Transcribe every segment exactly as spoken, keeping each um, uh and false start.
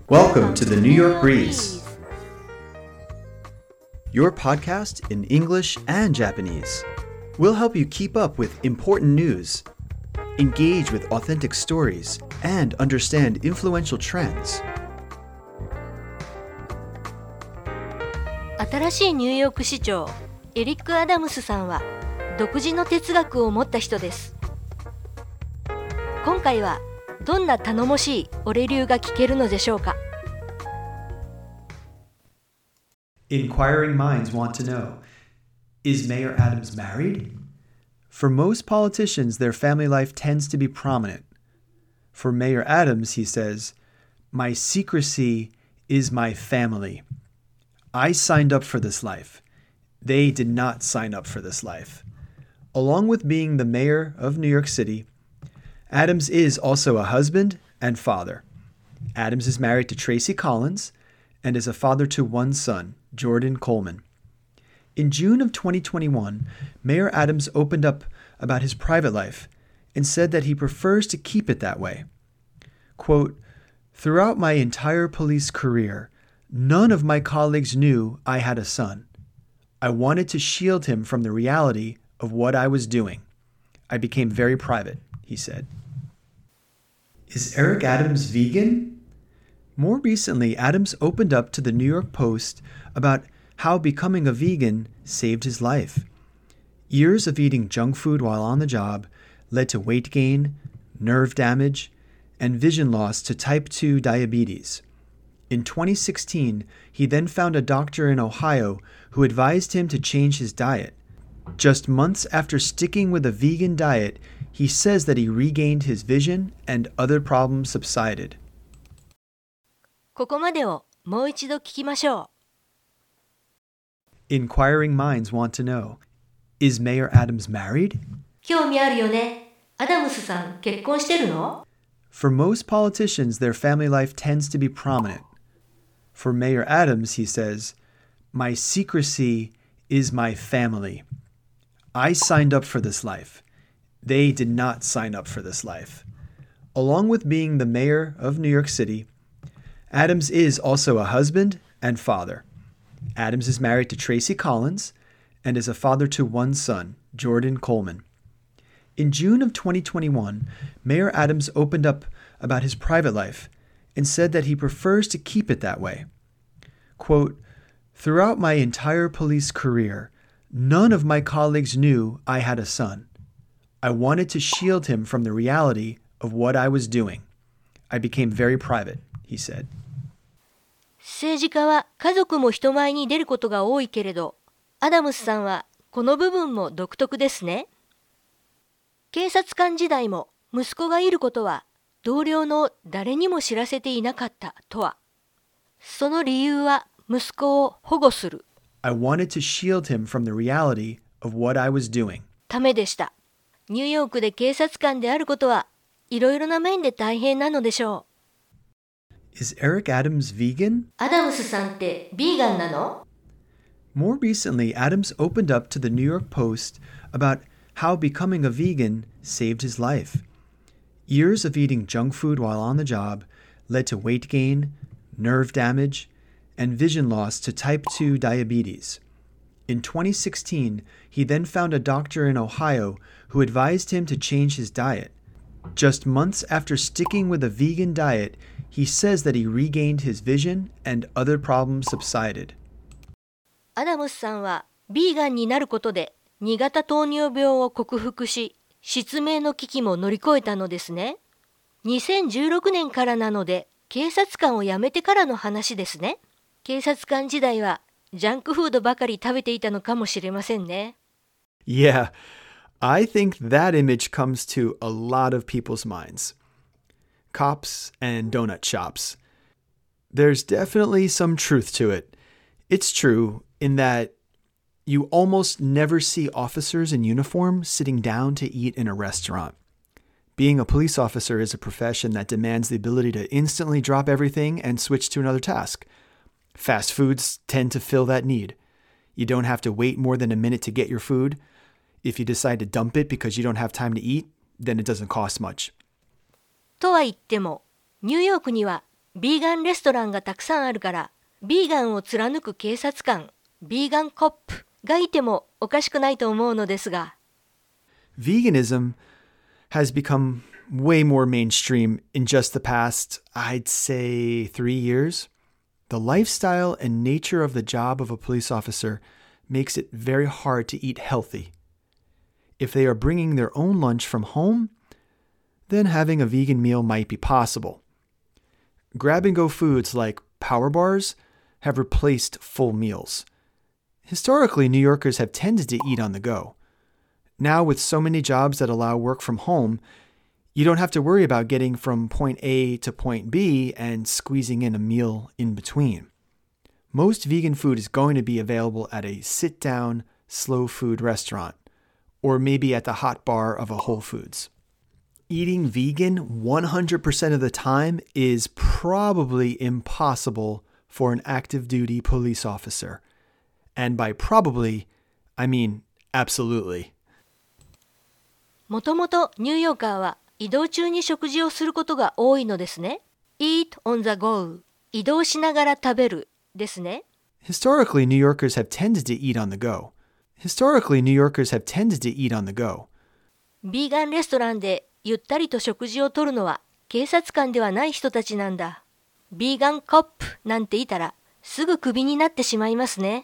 Welcome to the New York Breeze, your podcast in English and Japanese. We'll help you keep up with important news, engage with authentic stories, and understand influential trends. 新しいニューヨーク市長エリック・アダムスさんは独自の哲学を持った人です。今回はどんな頼もしい俺流が聞けるのでしょうか。 Inquiring minds want to know, is Mayor Adams married? For most politicians, their family life tends to be prominent. For Mayor Adams, he says, "My secrecy is my family. I signed up for this life. They did not sign up for this life." Along with being the mayor of New York City, Adams is also a husband and father. Adams is married to Tracy Collins and is a father to one son, Jordan Coleman. In June of twenty twenty-one, Mayor Adams opened up about his private life and said that he prefers to keep it that way. Quote, "Throughout my entire police career, none of my colleagues knew I had a son. I wanted to shield him from the reality of what I was doing. I became very private," he said. Is Eric Adams vegan? More recently, Adams opened up to the New York Post about how becoming a vegan saved his life. Years of eating junk food while on the job led to weight gain, nerve damage, and vision loss to type two diabetes. In twenty sixteen, he then found a doctor in Ohio who advised him to change his diet. Just months after sticking with a vegan diet, he says that he regained his vision and other problems subsided. ここまでをもう一度聞きましょう。 Inquiring minds want to know, is Mayor Adams married? 興味あるよね。アダムスさん結婚してるの？ For most politicians, their family life tends to be prominent. For Mayor Adams, he says, "My secrecy is my family. I signed up for this life. They did not sign up for this life." Along with being the mayor of New York City, Adams is also a husband and father. Adams is married to Tracy Collins and is a father to one son, Jordan Coleman. In June of twenty twenty-one, Mayor Adams opened up about his private life and said that he prefers to keep it that way. Quote, "Throughout my entire police career, none of my colleagues knew I had a son. I wanted to shield him from the reality of what I was doing. I became very private," he said. 政治家は家族も人前に出ることが多いけれど、アダムスさんはこの部分も独特ですね。警察官時代も息子がいることは同僚の誰にも知らせていなかったとは。その理由は息子を保護する I wanted to shield him from the reality of what I was doing. ためでした。ニューヨークで警察官であることはいろいろな面で大変なのでしょう。 Is Eric Adams vegan? アダムスさんってビーガンなの？ More recently, Adams opened up to the New York Post about how becoming a vegan saved his life. Years of eating junk food while on the job led to weight gain, nerve damage, and vision loss to type two diabetes. In twenty sixteen, he then found a doctor in Ohio who advised him to change his diet. Just months after sticking with a vegan diet, he says that he regained his vision and other problems subsided. アダムスさんはビーガンになることでに型糖尿病を克服し、失明の危機も乗り越えたのですね。にせんじゅうろくねんからなので、警察官を辞めてからの話ですね。警察官時代はジャンクフードばかり食べていたのかもしれませんね。 Yeah, I think that image comes to a lot of people's minds. Cops and donut shops. There's definitely some truth to it. It's true in that you almost never see officers in uniform sitting down to eat in a restaurant. Being a police officer is a profession that demands the ability to instantly drop everything and switch to another task. Fast foods tend to fill that need. You don't have to wait more than a minute to get your food. If you decide to dump it because you don't have time to eat, then it doesn't cost much. とは言っても、ニューヨークにはビーガンレストランがたくさんあるから、ビーガンを貫く警察官、ビーガンコップがいてもおかしくないと思うのですが。 Veganism has become way more mainstream in just the past, I'd say, three years. The lifestyle and nature of the job of a police officer makes it very hard to eat healthy. If they are bringing their own lunch from home, then having a vegan meal might be possible. Grab-and-go foods like power bars have replaced full meals. Historically, New Yorkers have tended to eat on the go. Now, with so many jobs that allow work from home, you don't have to worry about getting from point A to point B and squeezing in a meal in between. Most vegan food is going to be available at a sit-down, slow food restaurant, or maybe at the hot bar of a Whole Foods. Eating vegan one hundred percent of the time is probably impossible for an active duty police officer. And by probably, I mean absolutely. もともとニューヨーカーは移動中に食事をすることが多いのですね。Eat on the go. 移動しながら食べるですね。 Historically, New Yorkers have tended to eat on the go. Historically, New Yorkers have tended to eat on the go. ビーガンレストランでゆったりと食事をとるのは警察官ではない人たちなんだ。ビーガンコップなんていたらすぐクビになってしまいますね。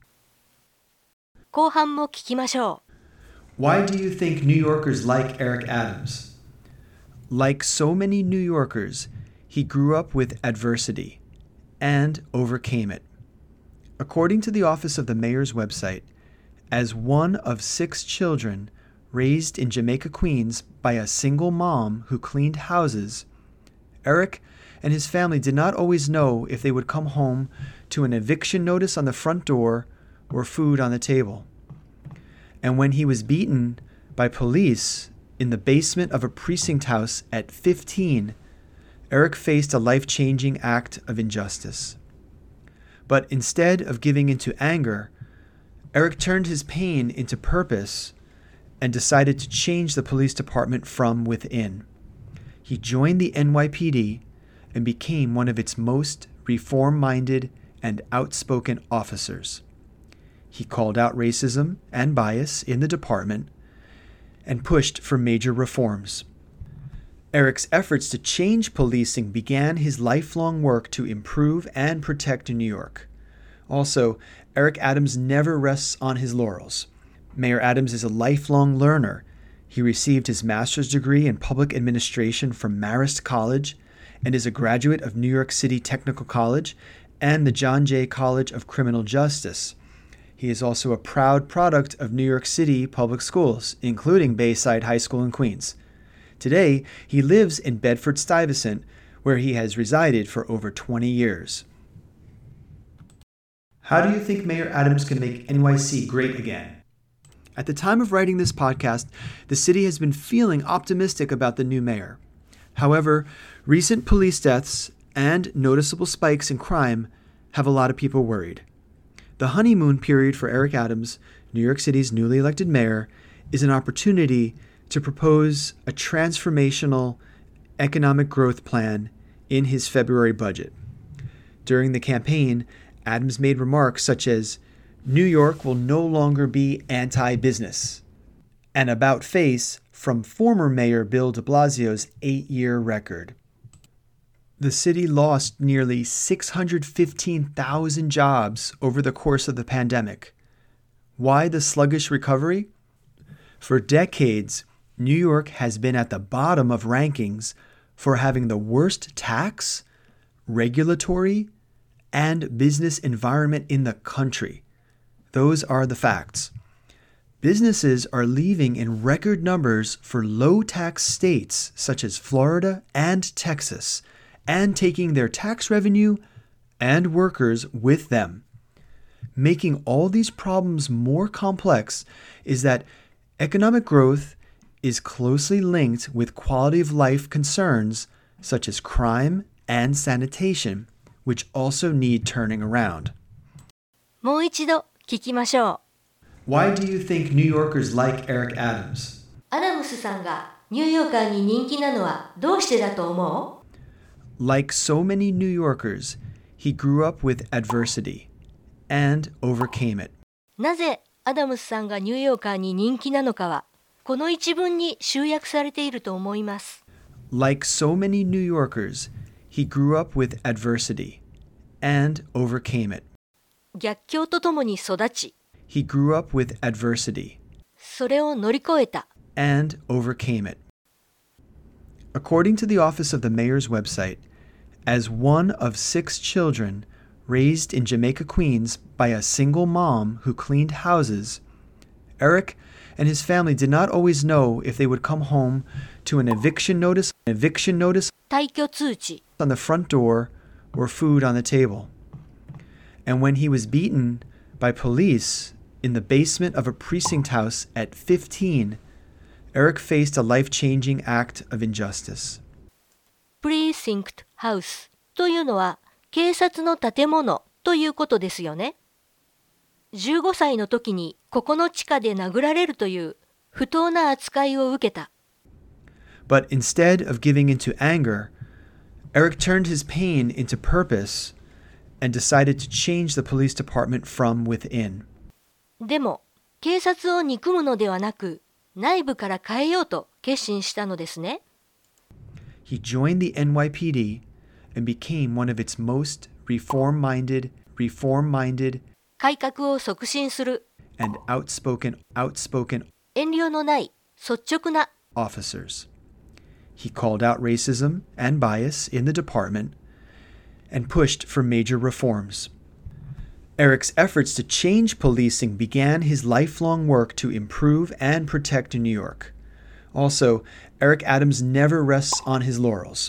後半も聞きましょう。 Why do you think New Yorkers like Eric Adams? Like so many New Yorkers, he grew up with adversity and overcame it. According to the Office of the Mayor's website, as one of six children raised in Jamaica, Queens by a single mom who cleaned houses, Eric and his family did not always know if they would come home to an eviction notice on the front door or food on the table. And when he was beaten by police in the basement of a precinct house at fifteen, Eric faced a life-changing act of injustice. But instead of giving into anger, Eric turned his pain into purpose and decided to change the police department from within. He joined the N Y P D and became one of its most reform-minded and outspoken officers. He called out racism and bias in the department and pushed for major reforms. Eric's efforts to change policing began his lifelong work to improve and protect New York. Also, Eric Adams never rests on his laurels. Mayor Adams is a lifelong learner. He received his master's degree in public administration from Marist College and is a graduate of New York City Technical College and the John Jay College of Criminal Justice. He is also a proud product of New York City public schools, including Bayside High School in Queens. Today, he lives in Bedford-Stuyvesant, where he has resided for over twenty years. How do you think Mayor Adams can make N Y C great again? At the time of writing this podcast, the city has been feeling optimistic about the new mayor. However, recent police deaths and noticeable spikes in crime have a lot of people worried. The honeymoon period for Eric Adams, New York City's newly elected mayor, is an opportunity to propose a transformational economic growth plan in his February budget. During the campaign, Adams made remarks such as, "New York will no longer be anti-business," an about-face from former Mayor Bill de Blasio's eight-year record. The city lost nearly six hundred fifteen thousand jobs over the course of the pandemic. Why the sluggish recovery? For decades, New York has been at the bottom of rankings for having the worst tax, regulatory, and business environment in the country. Those are the facts. Businesses are leaving in record numbers for low-tax states such as Florida and Texas, and taking their tax revenue and workers with them. Making all these problems more complex is that economic growth is closely linked with quality of life concerns such as crime and sanitation, which also need turning around. もう一度聞きましょう。Why do you think New Yorkers like Eric Adams? アダムスさんがニューヨーカーに人気なのはどうしてだと思う Like so many New Yorkers, he grew up with adversity and overcame it. なぜアダムスさんがニューヨーカーに人気なのかは、この一文に集約されていると思います。 Like so many New Yorkers, he grew up with adversity and overcame it. 逆境とともに育ち、 He grew up with adversity それを乗り越えた。 and overcame it. According to the office of the mayor's website, as one of six children raised in Jamaica, Queens by a single mom who cleaned houses, Eric and his family did not always know if they would come home to an eviction notice, an eviction notice 退去通知、 on the front door or food on the table. And when he was beaten by police in the basement of a precinct house at fifteen, Eric faced a life-changing act of injustice. Precinct House というのは警察の建物ということですよね。じゅうごさいの時にここの地下で殴られるという不当な扱いを受けた。 But instead of giving into anger, Eric turned his pain into purpose and decided to change the police department from within. でも警察を憎むのではなく、内部から変えようと決心したのですね。 He joined the N Y P D and became one of its most reform-minded, reform-minded, 改革を促進する and outspoken, outspoken 遠慮のない率直な officers. He called out racism and bias in the department and pushed for major reforms. Eric's efforts to change policing began his lifelong work to improve and protect New York. Also, Eric Adams never rests on his laurels.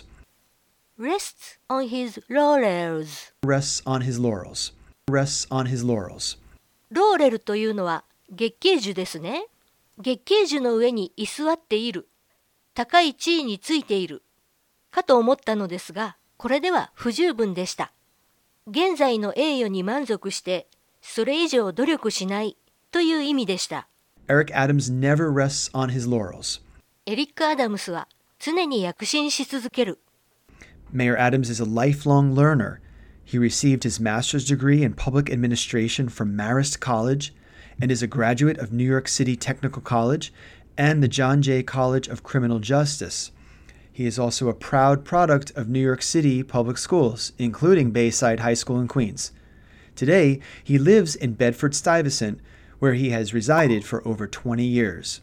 rests on his laurels Rests on his laurels. Rests on his laurels. ローレルというのは月桂樹ですね。月桂樹の上に居座っている、高い地位についているかと思ったのですが、これでは不十分でした。現在の栄誉に満足してそれ以上努力しないという意味でした。 Eric Adams never rests on his laurels. エリック・アダムスは常に躍進し続ける。 Mayor Adams is a lifelong learner. He received his master's degree in public administration from Marist College and is a graduate of New York City Technical College and the John Jay College of Criminal Justice. He is also a proud product of New York City public schools, including Bayside High School in Queens. Today, he lives in Bedford-Stuyvesant, where he has resided for over twenty years.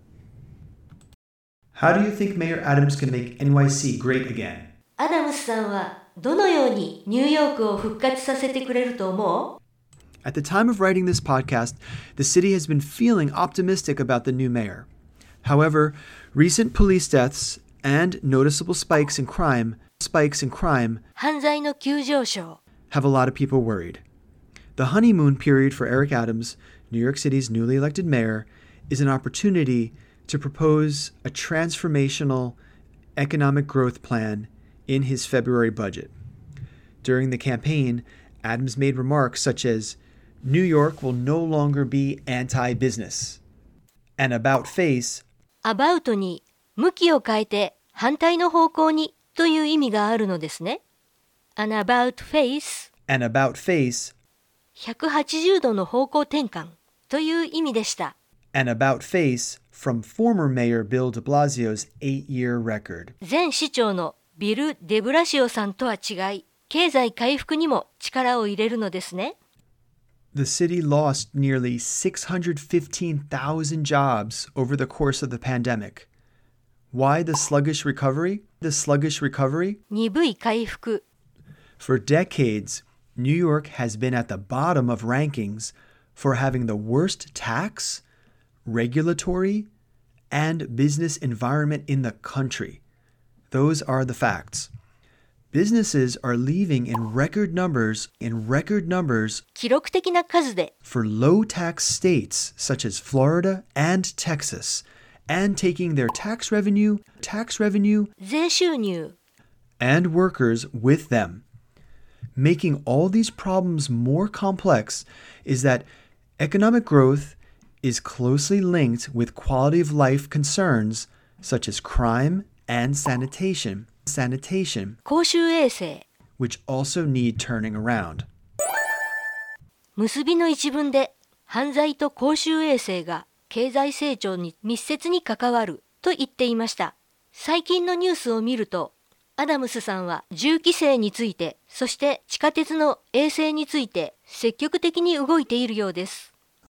How do you think Mayor Adams can make N Y C great again? アダムスさんはどのようにニューヨークを復活させてくれると思う？ At the time of writing this podcast, the city has been feeling optimistic about the new mayor. However, recent police deaths and noticeable spikes in crime, spikes in crime 犯罪の急上昇。 have a lot of people worried. The honeymoon period for Eric Adams, New York City's newly elected mayor, is an opportunity to propose a transformational economic growth plan in his February budget. During the campaign, Adams made remarks such as, New York will no longer be anti-business. An about-face, アバウトに向きを変えて反対の方向にという意味があるのですね。An about face, an about-face, ひゃくはちじゅうどの方向転換という意味でした。 an about-face from former Mayor Bill de Blasio's eight-year record. 前市長のビル・デブラシオさんとは違い、経済回復にも力を入れるのですね。 The city lost nearly six hundred fifteen thousand jobs over the course of the pandemic. Why the sluggish recovery? The sluggish recovery? 鈍い回復。 For decades, New York has been at the bottom of rankings for having the worst tax, regulatory, and business environment in the country. Those are the facts. Businesses are leaving in record numbers, in record numbers 記録的な数で for low-tax states such as Florida and Texas, and taking their tax revenue, tax revenue, 税収入 and workers with them. Making all these problems more complex is that economic growth is closely linked with quality of life concerns such as crime and sanitation. sanitation, 公衆衛生、 which also need turning around. 結びの一文で犯罪と公衆衛生が経済成長に密接に関わると言っていました。最近のニュースを見ると、アダムスさんは銃規制について、そして地下鉄の衛生について積極的に動いているようです。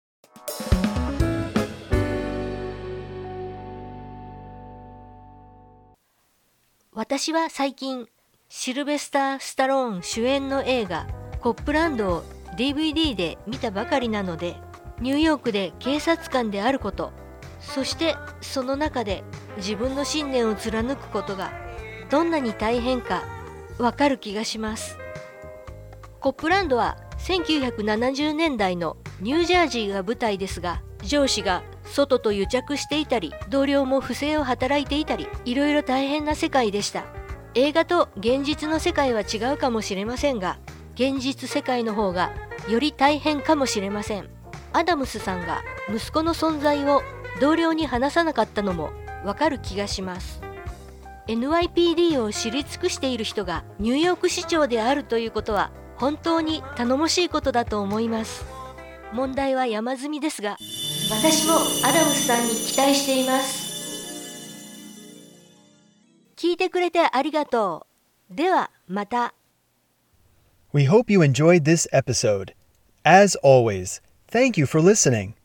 私は最近、シルベスター・スタローン主演の映画コップランドを ディーブイディー で見たばかりなので、ニューヨークで警察官であること、そしてその中で自分の信念を貫くことがどんなに大変かわかる気がします。コップランドはせんきゅうひゃくななじゅうねんだいのニュージャージーが舞台ですが、上司が外と癒着していたり、同僚も不正を働いていたり、いろいろ大変な世界でした。映画と現実の世界は違うかもしれませんが、現実世界の方がより大変かもしれません。アダムスさんが息子の存在を同僚に話さなかったのもわかる気がします。エヌワイピーディー を知り尽くしている人がニューヨーク市長であるということは本当に頼もしいことだと思います。問題は山積みですが、私もアダムスさんに期待しています。聞いてくれてありがとう。ではまた。 We hope you enjoyed this episode. As always, thank you for listening.